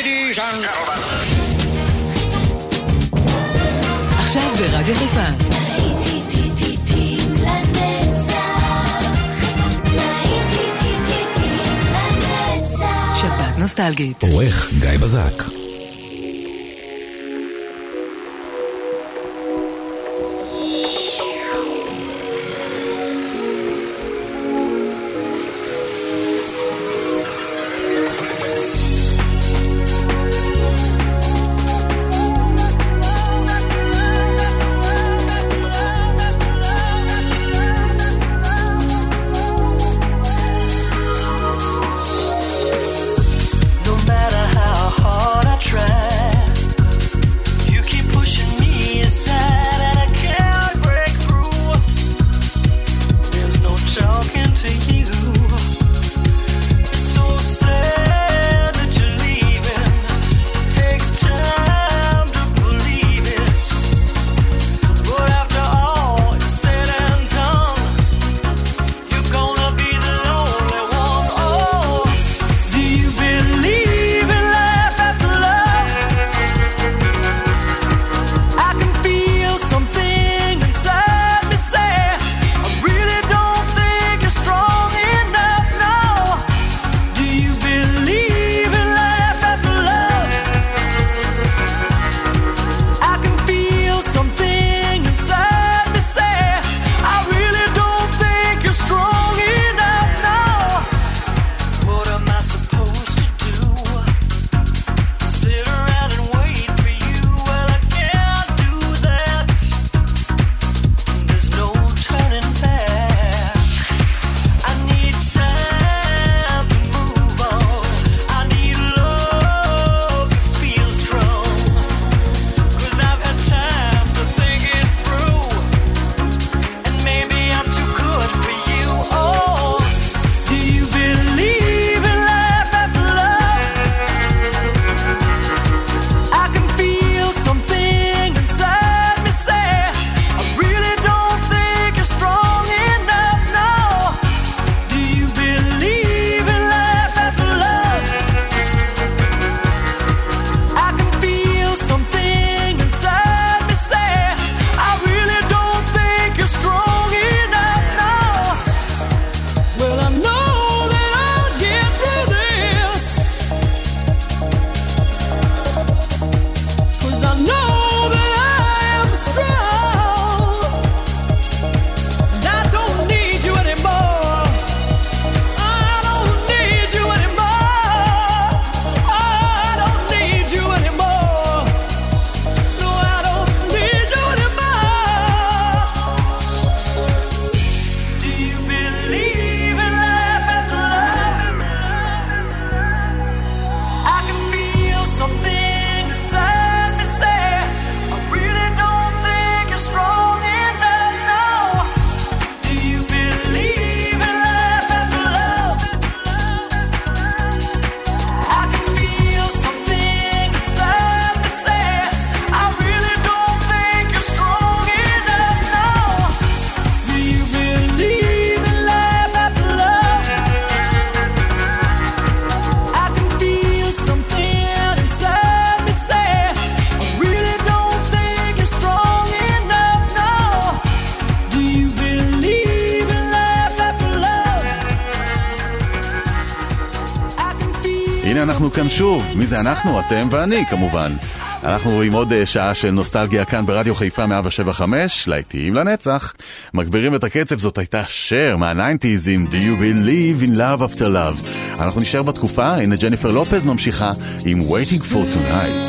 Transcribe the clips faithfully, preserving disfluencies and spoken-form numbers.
Ladies and gentlemen. עכשיו ברדיו חיפה. שפעת נוסטלגית. עורך גיא בזק. אנחנו כאן שוב. מי זה אנחנו? אתם ואני כמובן. אנחנו עם עוד שעה של נוסטלגיה כאן ברדיו חיפה מאה שבע חמש, להיטים לנצח. מגבירים את הקצב, זאת הייתה שר מה-תשעים עם Do You Believe in Love After Love. אנחנו נשאר בתקופה, הנה ג'ניפר לופז ממשיכה עם Waiting for Tonight.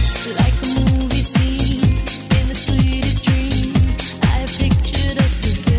Like a movie scene in the sweetest dream, I have pictured us together.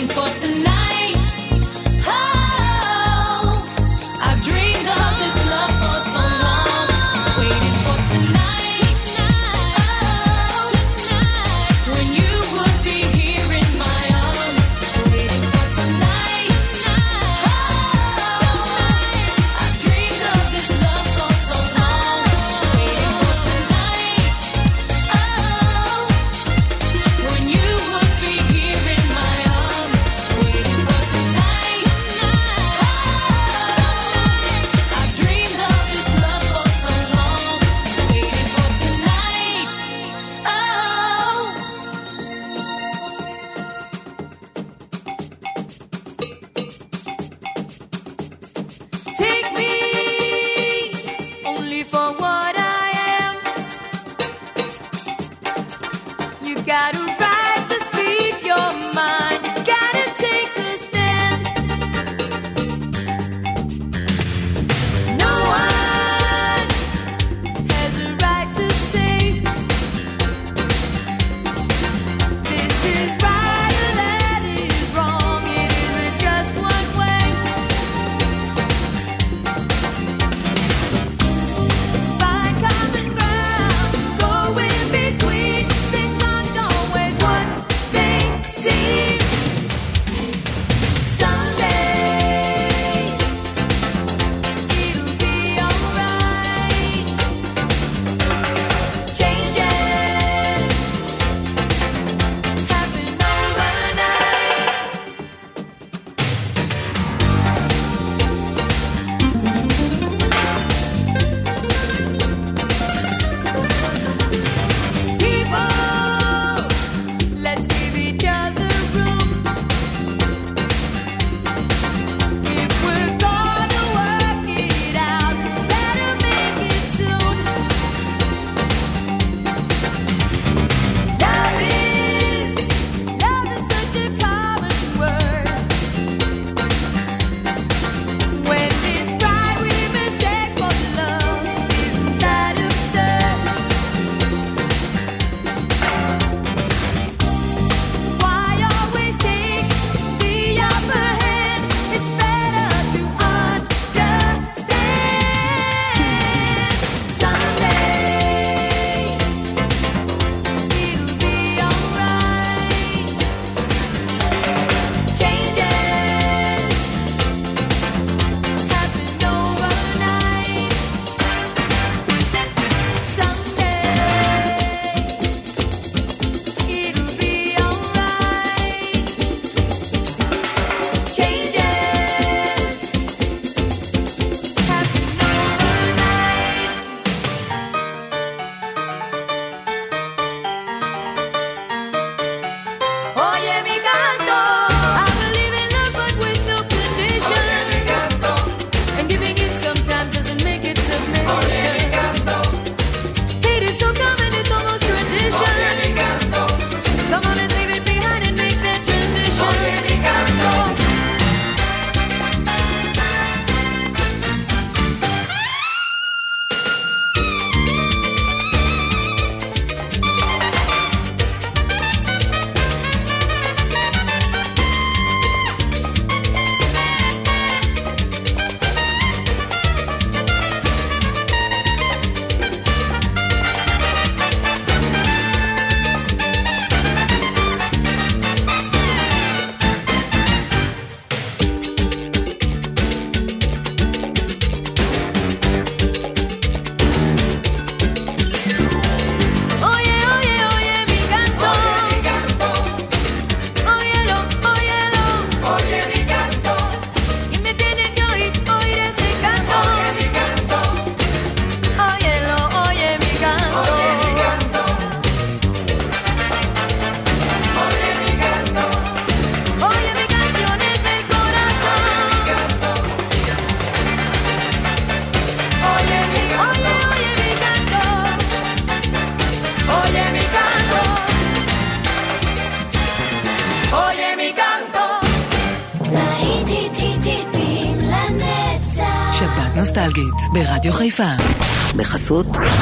נוסטלגית ברדיו חיפה. בחסות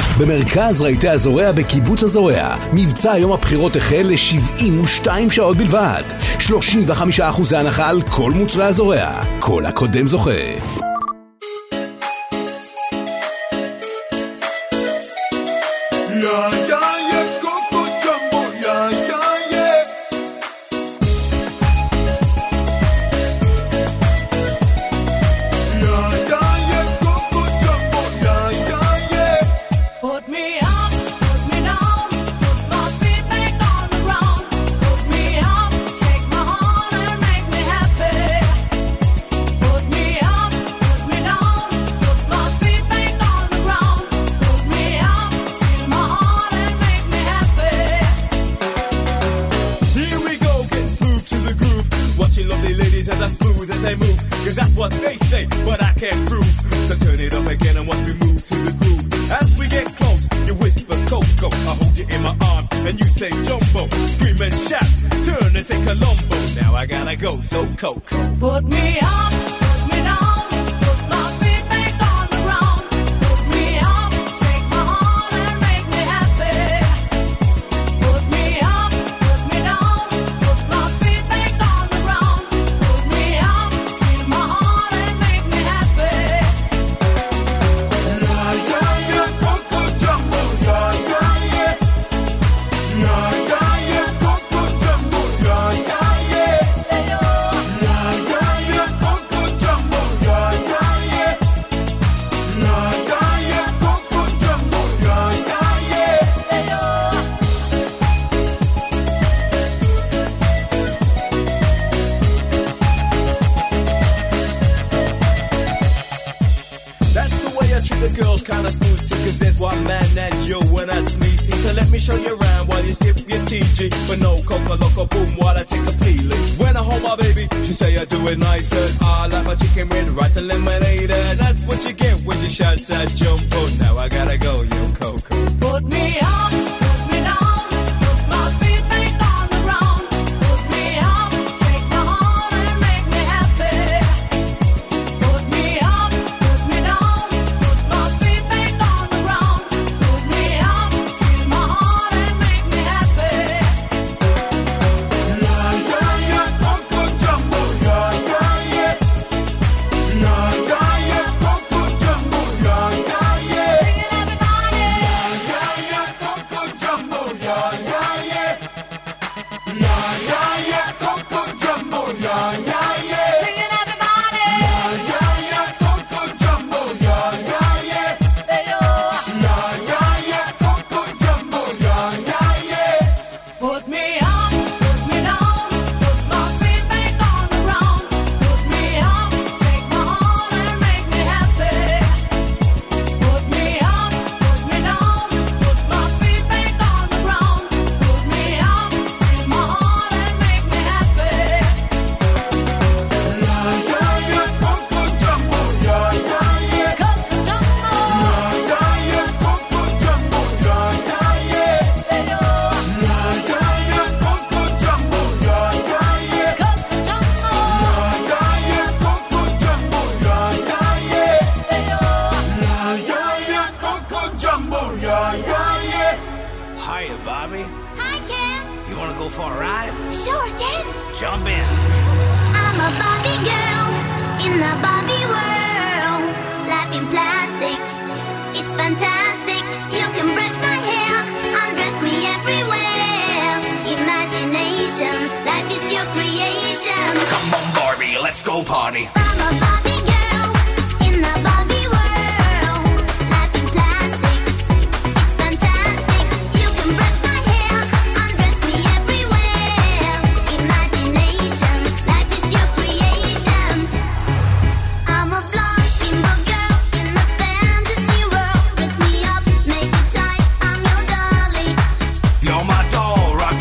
במרכז רהיטי הזורע בקיבוץ הזורע. מבצע יום הבחירות החל ל-שבעים ושתיים שעות בלבד. שלושים וחמישה אחוז הנחה על כל מוצרי הזורע. כל הקודם זוכה.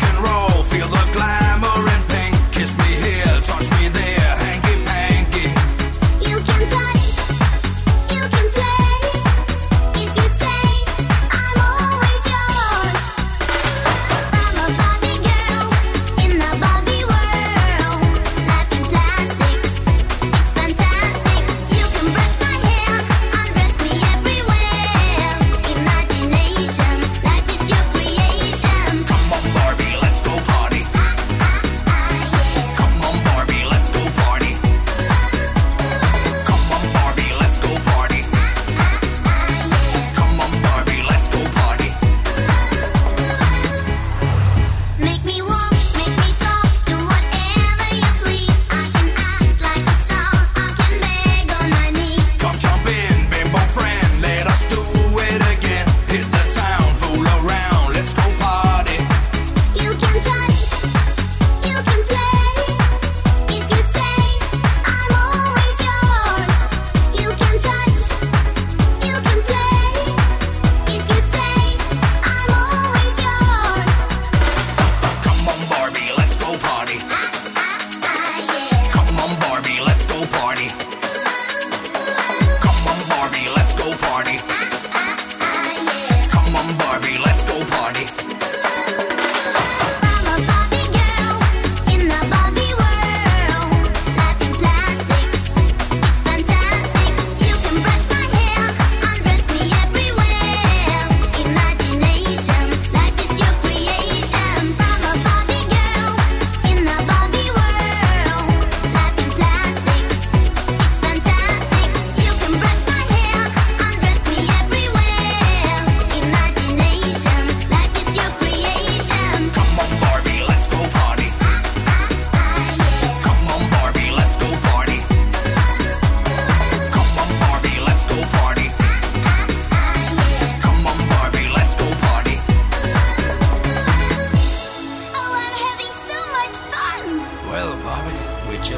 Feel the glamour in pink, kiss me here, touch me there, hanky panky.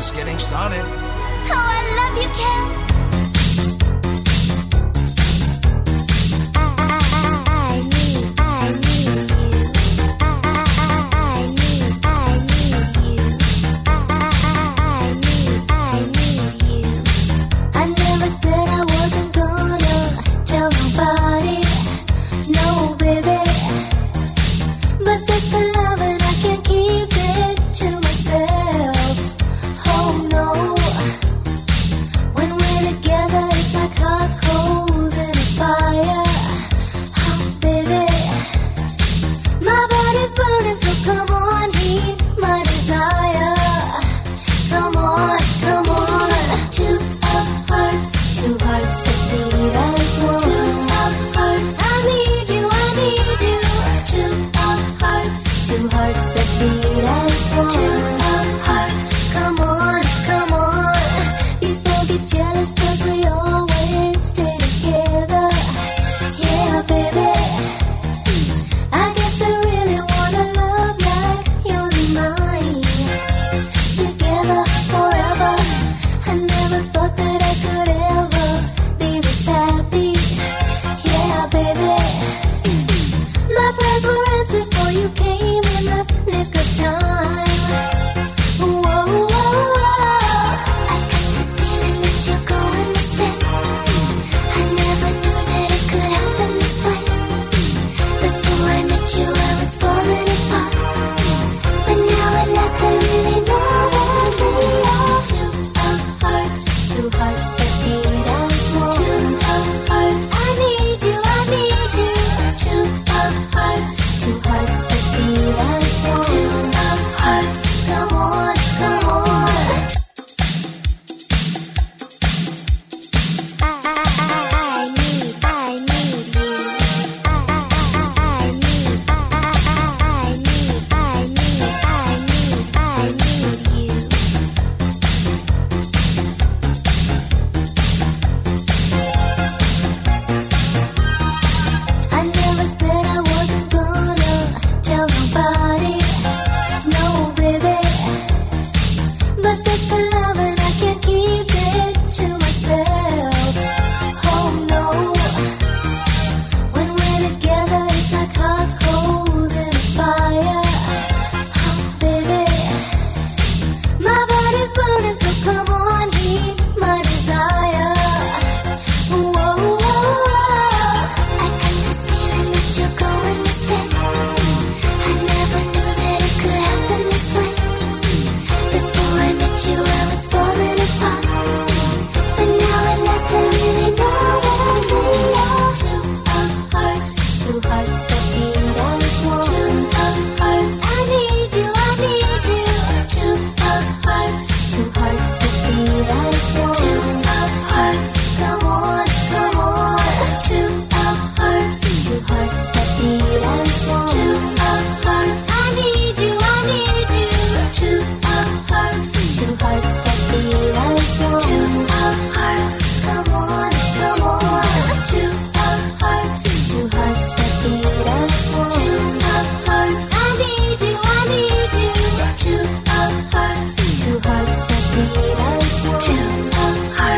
just getting started. Oh, I love you, Ken. Two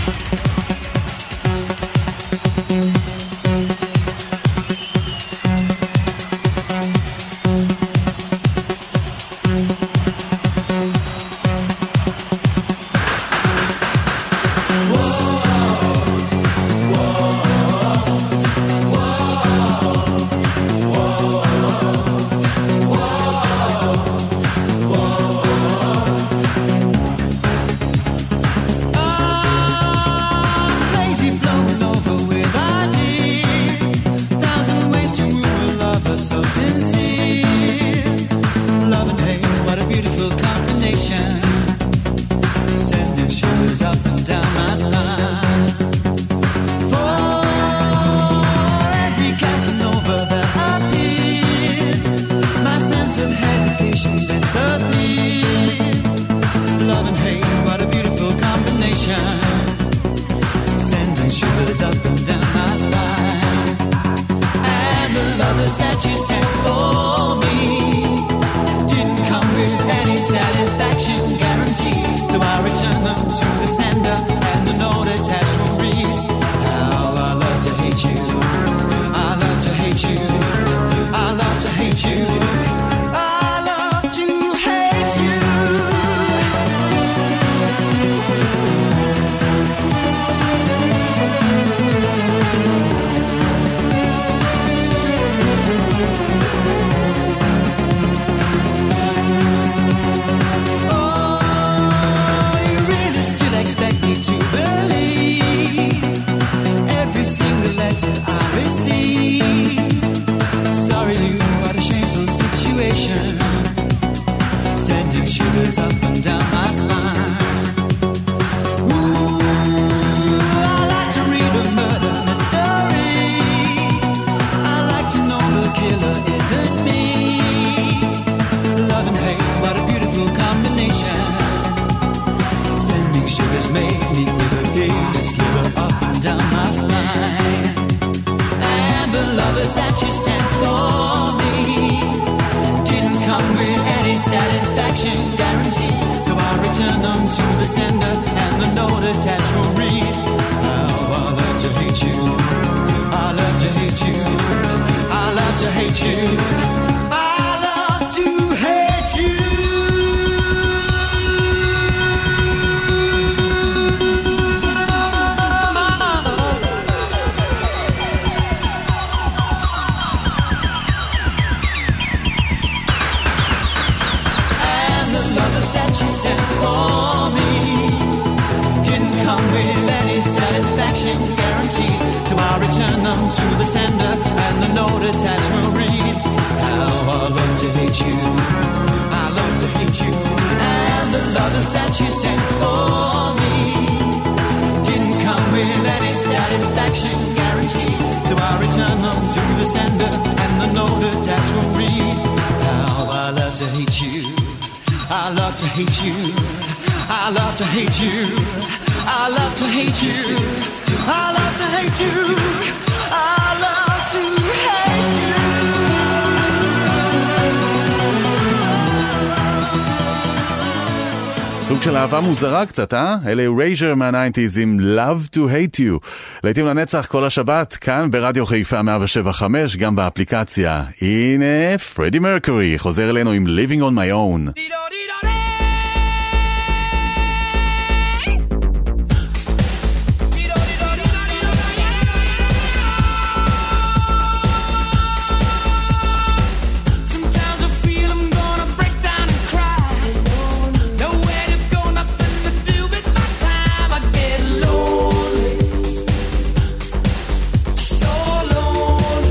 סוג של אהבה מוזרה קצת, אה? אלה רייז'ר מה-תשעים עם Love to Hate You. לעתים לנצח כל השבת, כאן ברדיו חיפה מאה שבע חמש, גם באפליקציה. הנה, פרדי מרקורי חוזר אלינו עם Living on My Own.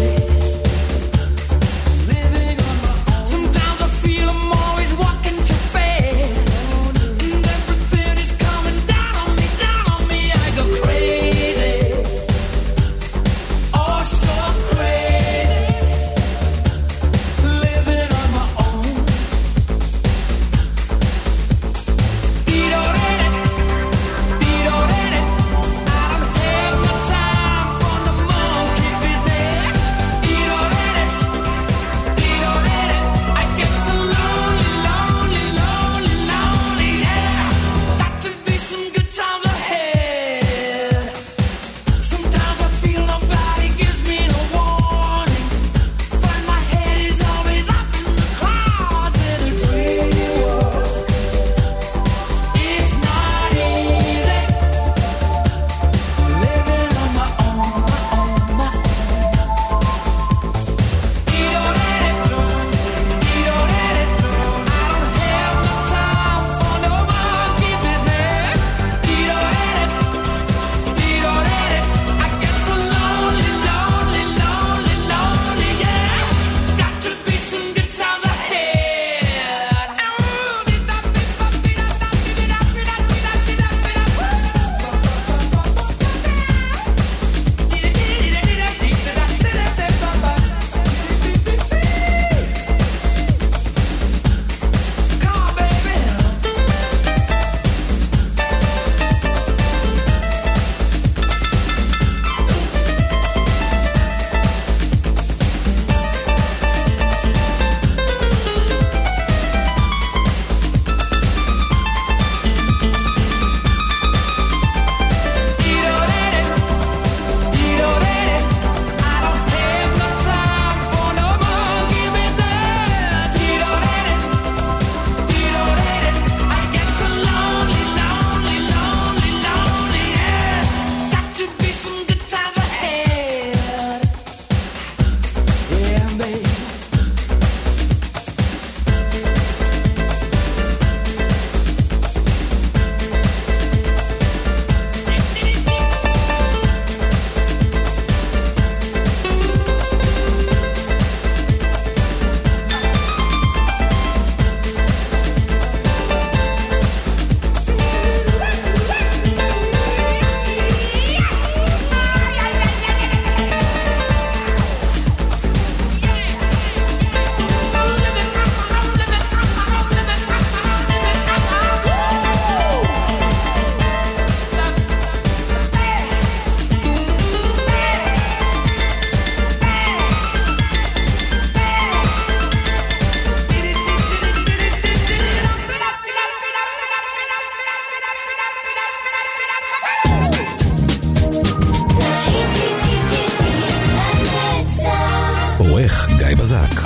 Sometimes I feel I'm always walking too העורך גיא בזק.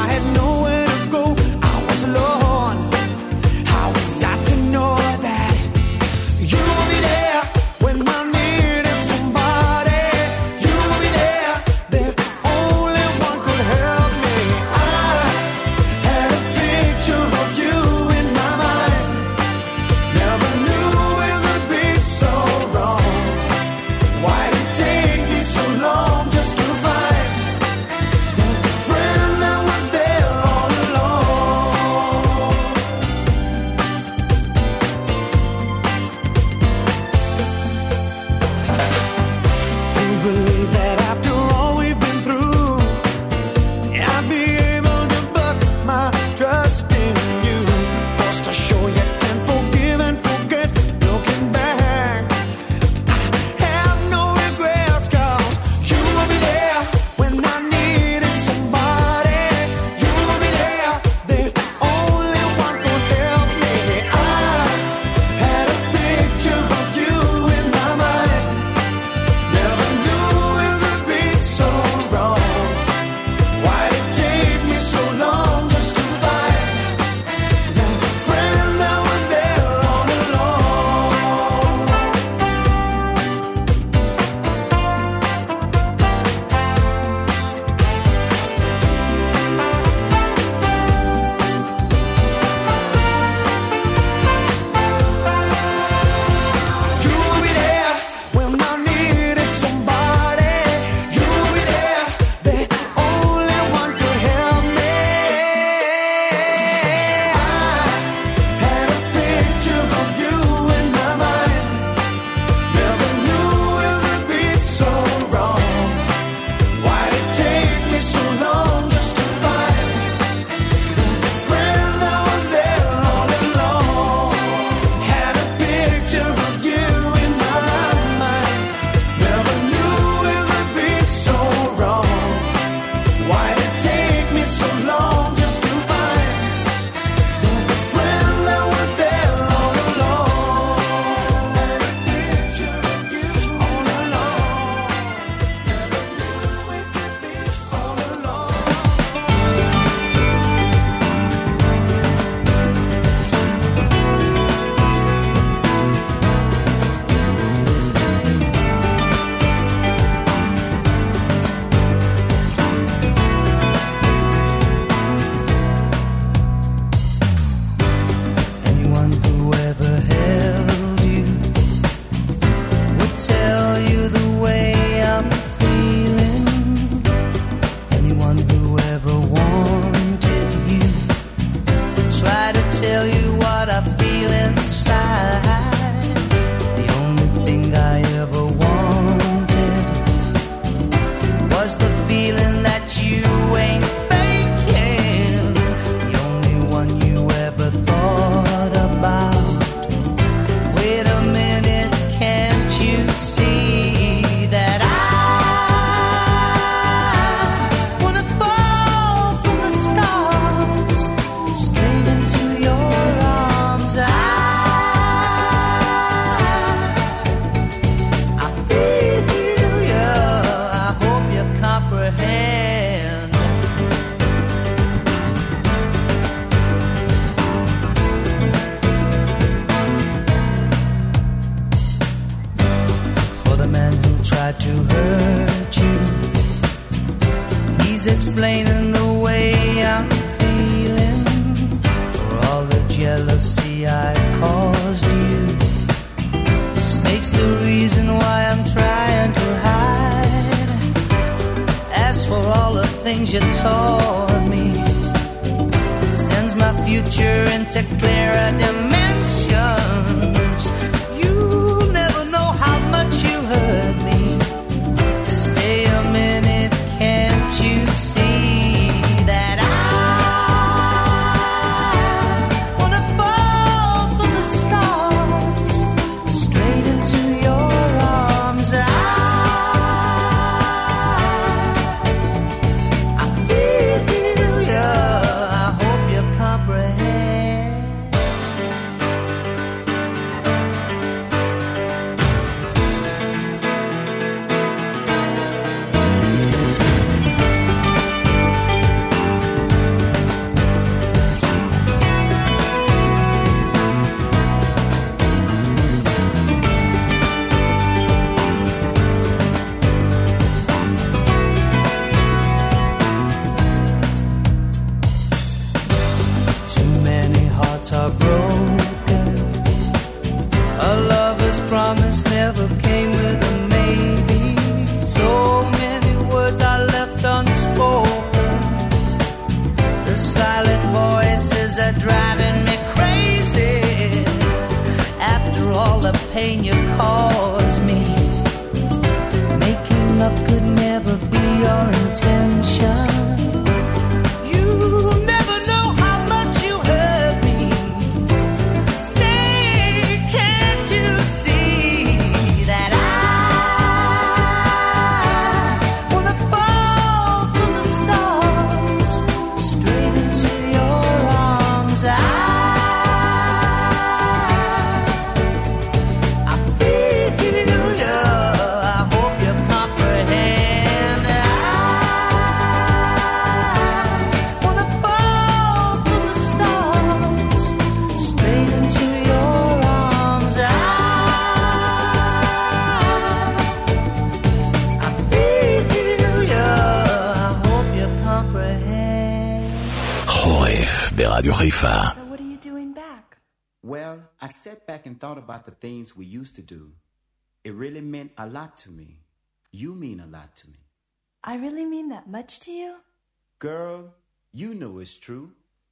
That tell you what I feel inside. The only thing I ever wanted was the feeling that you ain't faking. The only one you ever thought about. Wait a minute, can't you see that I wanna fall from the stars straight into your arms? I, I feel you, I hope you comprehend. For the man who tried to hurt you, he's explaining the way I'm feeling. For all the jealousy I caused you, the snake's the reason why I'm trying to hide. As for all the things you taught me, it sends my future into clearer dimensions. You'll never know how much you hurt me. Stay a minute, can't you see that I wanna fall from the stars straight into your arms? I, I feel you, I hope you comprehend. Too many hearts are broken. A lover's promise never came with a maybe. So many words are left unspoken. The silent voices are driving me crazy. After all the pain you caused me, making up could never be your intention. You never know how much you hurt me. Stay, can't you see that I wanna fall from the stars straight into your arms? I, I feel you, I hope you comprehend. I wanna fall from the stars straight into your arms. I, I feel you, I hope you comprehend. חורף ברדיו חיפה. So what are you doing back? Well, I sat back and thought about the things we used to do. It really meant a lot to me. You mean a lot to me. I really mean that much to you? Girl, you know it's true.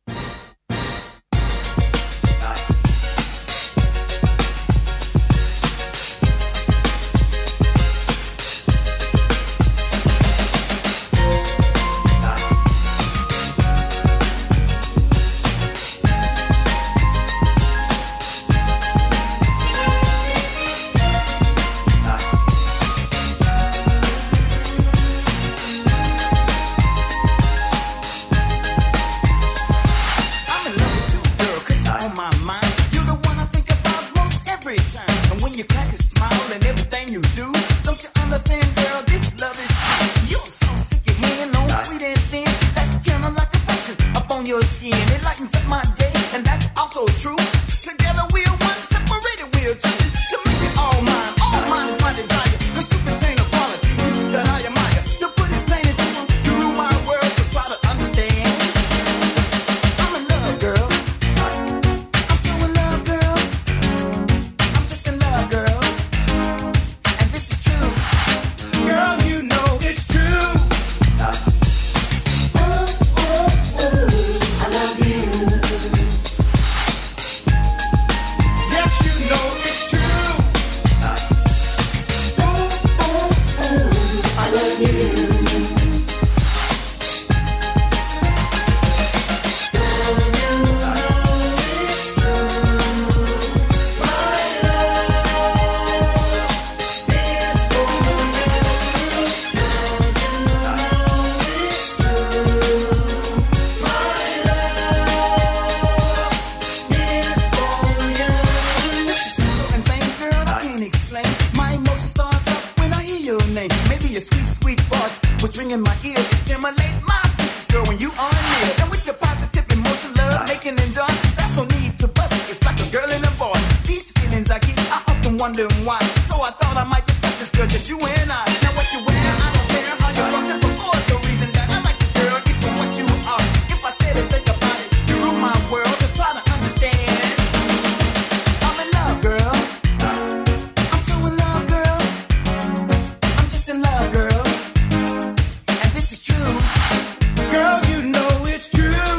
your skin. It lightens up my day, and that's also true. Together we're one, separated we're two. To make it all mine, all mine is my desire. Cause you contain a quality that I admire. To put it plain and simple, you rule my world, so try to understand. I'm in love, girl. I'm so in love, girl. I'm just in love, girl. And this is true. Girl, you know it's true. wondering why. So I thought I might discuss this girl, just you and I. Now what you wear, I don't care how you cross it before. The reason that I like the girl is for what you are. If I said it, think about it, you rule my world, so try to understand. I'm in love, girl. I'm so in love, girl. I'm just in love, girl. And this is true. Girl, you know it's true.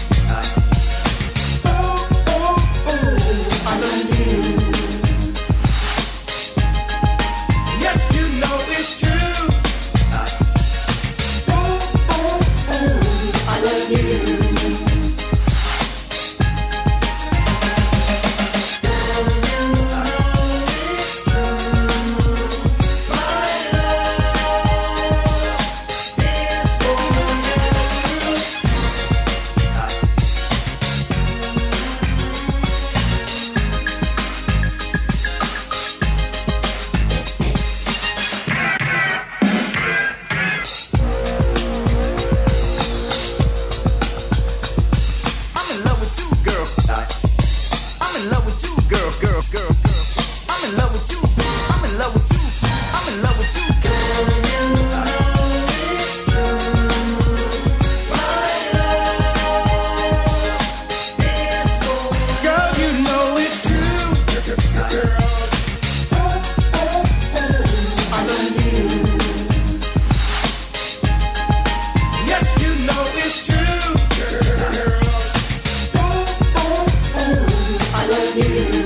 Oh, oh, oh, I love you. Yes, you know it's true. Oh, oh, oh, I love you. I'm in love with you, girl. I'm in love with you, girl, girl, girl, girl. I'm in love with you. I'm in love with you. I'm in love with you, girl. Girl, you know it's true. Oh, oh, oh, I love you. Yes, you know it's true. Oh, oh, oh, I love you.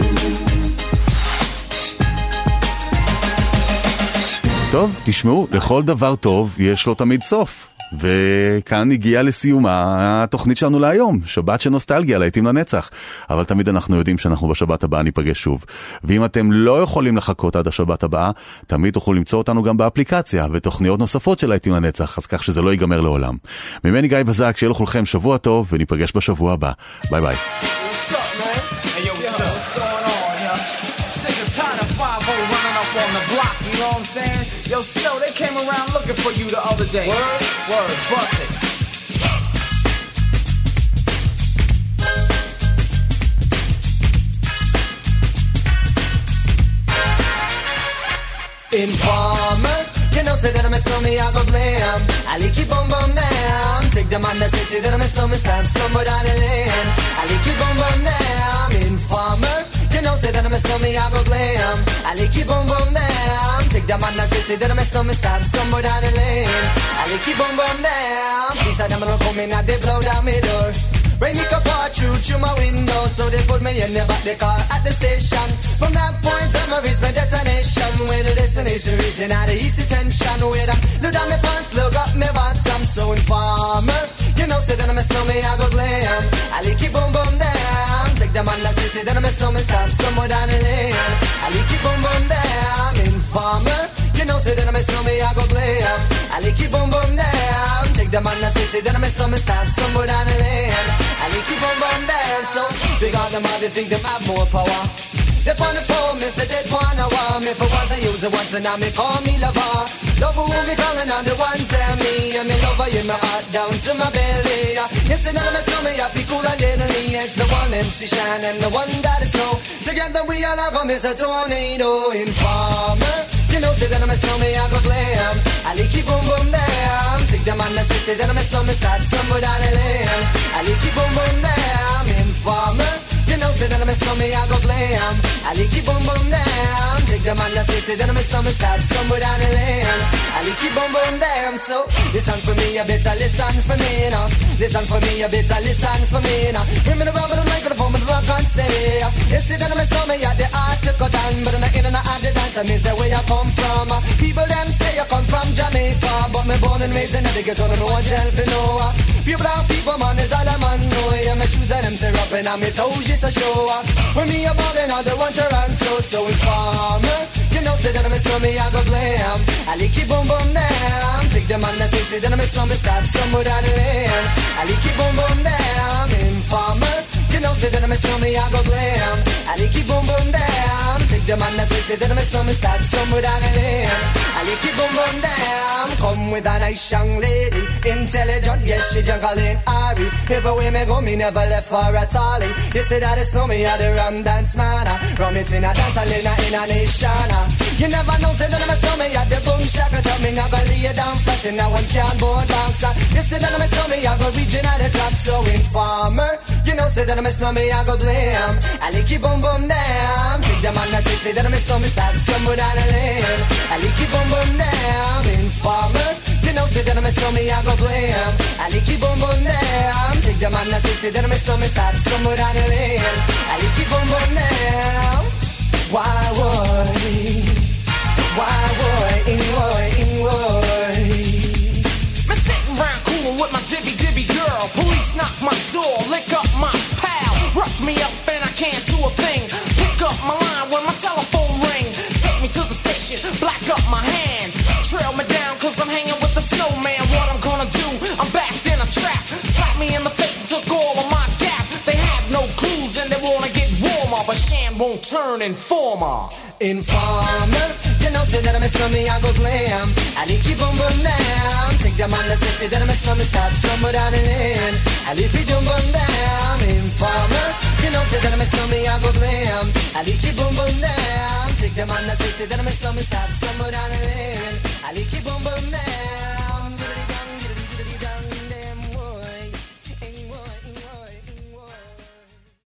טוב, תשמעו, לכל דבר טוב יש לו תמיד סוף. וכאן הגיעה לסיומה התוכנית שלנו להיום, שבת של נוסטלגיה, להיטים לנצח. אבל תמיד אנחנו יודעים שאנחנו בשבת הבאה ניפגש שוב. ואם אתם לא יכולים לחכות עד השבת הבאה, תמיד תוכלו למצוא אותנו גם באפליקציה ותוכניות נוספות של להיטים לנצח, אז כך שזה לא ייגמר לעולם. ממני גיא בזק, שיהיה לכולכם שבוע טוב וניפגש בשבוע הבא. ביי ביי. What's up, man? Hey, yo, what's, yo, what's going on, yo? Sick and tired of five oh running up on the block, you know what I'm saying? Yo, Snow, they came around looking for you the other day. Word? Word, bust it. Informer, you know, say that I'm a snowman, I go blam. I like you boom boom down. Take the man that say, say that I'm a snowman, stab somewhere down the lane. I like you boom boom down. Informer, you know, say that I'm a snowman, I go blam. I like you boom boom down. Take the man that say, say that I'm a snowman, stab somewhere down the lane. I like you boom boom down. These are them gonna come in and they blow down my door. Rain it up all through through my window, so they put me in the back the car at the station. From that point on, I reached my destination. Where the destination region out of east detention. Where I look down my pants, look up my bottom. So informer, you know, say that I'm a snowman, I go glam. I like you boom boom down. Take the man that say, say that I'm a snowman, stop somewhere down the lane. I like you boom boom down. Informer, you know, say that I'm a snowman, I go glam. I like you boom boom down. Take the man that say, say that I'm a snowman, stop somewhere down the lane. I like you boom boom down. So big on them all, they think them have more power. They on the phone, me say they wanna want me. For once I use it once and now me call me lover. Lover who me calling on the one tell me. And me lover in my heart down to my belly. Yes, and now me slow me, I feel cool and deadly. It's the one M C Shine and the one that is snow. Together we all have come as a tornado. Informer, you know, say that I'm a snowman, I go glam. I like you boom boom down. Take the man that say, say that I'm a snowman, start somewhere down the lane. I like you boom boom down. Informer, you know, say that I'm a snowman, I go glam. I like you boom boom down. Take the man that say, say that I'm a snowman, start somewhere down the lane. I like you boom boom down. So listen for me, you better listen for me now. Listen for me, you better listen for me now. Bring me the rubber, the microphone, but the rock on stay. You see that I'm a snowman, yeah, the art to cut down, but I'm not in and out of the dance. I miss where you come from. People them say you come from Jamaica, but me born and raised in the ghetto, no one tell for no. Pure brown people, man, is all a man know. Yeah, my shoes and them tear up and my toes just a show. When me a ballin', all the one Toronto, so informer. You know, say that I'm a snowman, I go glam. I like you boom boom down. Take the man that say, say that I'm a snowman, stop somewhere down the lane. I like you boom boom down. Informer. You know, say that I'm a snowman, I go glam. I like you boom boom down. Take take them on the say, say that I'm a snowman, start somewhere down the lane. I like it boom boom down. Come with a nice young lady, intelligent, yes, she jungle in Ari. Everywhere me go, me never left for a tally. You say that it's snow me at the rum dance man. Rum it in a dance, in a, in a nation. You never know, say that I'm a snow me at the boom shack. Tell me now, go lay you down flat in a one can board box. You say that I'm a snow me, I go region at the top. So informer, you know, say that I'm a snow me, I go blame. I like it boom boom down. Take them on the say, say that I'm a snow me, start somewhere down the lane. I like it boom boom down. Informer, you know, say that I'm a snow me, I go blame. I like it boom boom down. Take them on the say, say that I'm a snow me, start somewhere down the lane. I like it boom boom down. Why would he? Why would he? Why would he? I'm sitting round coolin' with my dibby dibby girl. Police knock my door, lick up my pal. Rough me up and I can't do a thing. Pick up my line when my telephone ring. Take me to the station, black up my hands. Trail me down cause I'm hanging with the snowman. What I'm gonna do, I'm backed in a trap. Slap me in the face and took all of my gap. They have no clues and they wanna get warmer, but Shan won't turn informer. Informer, you know, say that I'm a snowman, I go glam. I like it boom boom down. Take them on the say, say that I'm a snowman, start somewhere down the lane. I like it boom boom down. Informer, you know, say that I'm a snowman, I go glam. I like it boom boom down. Take them on the say, say that I'm a snowman, start somewhere down the lane. I like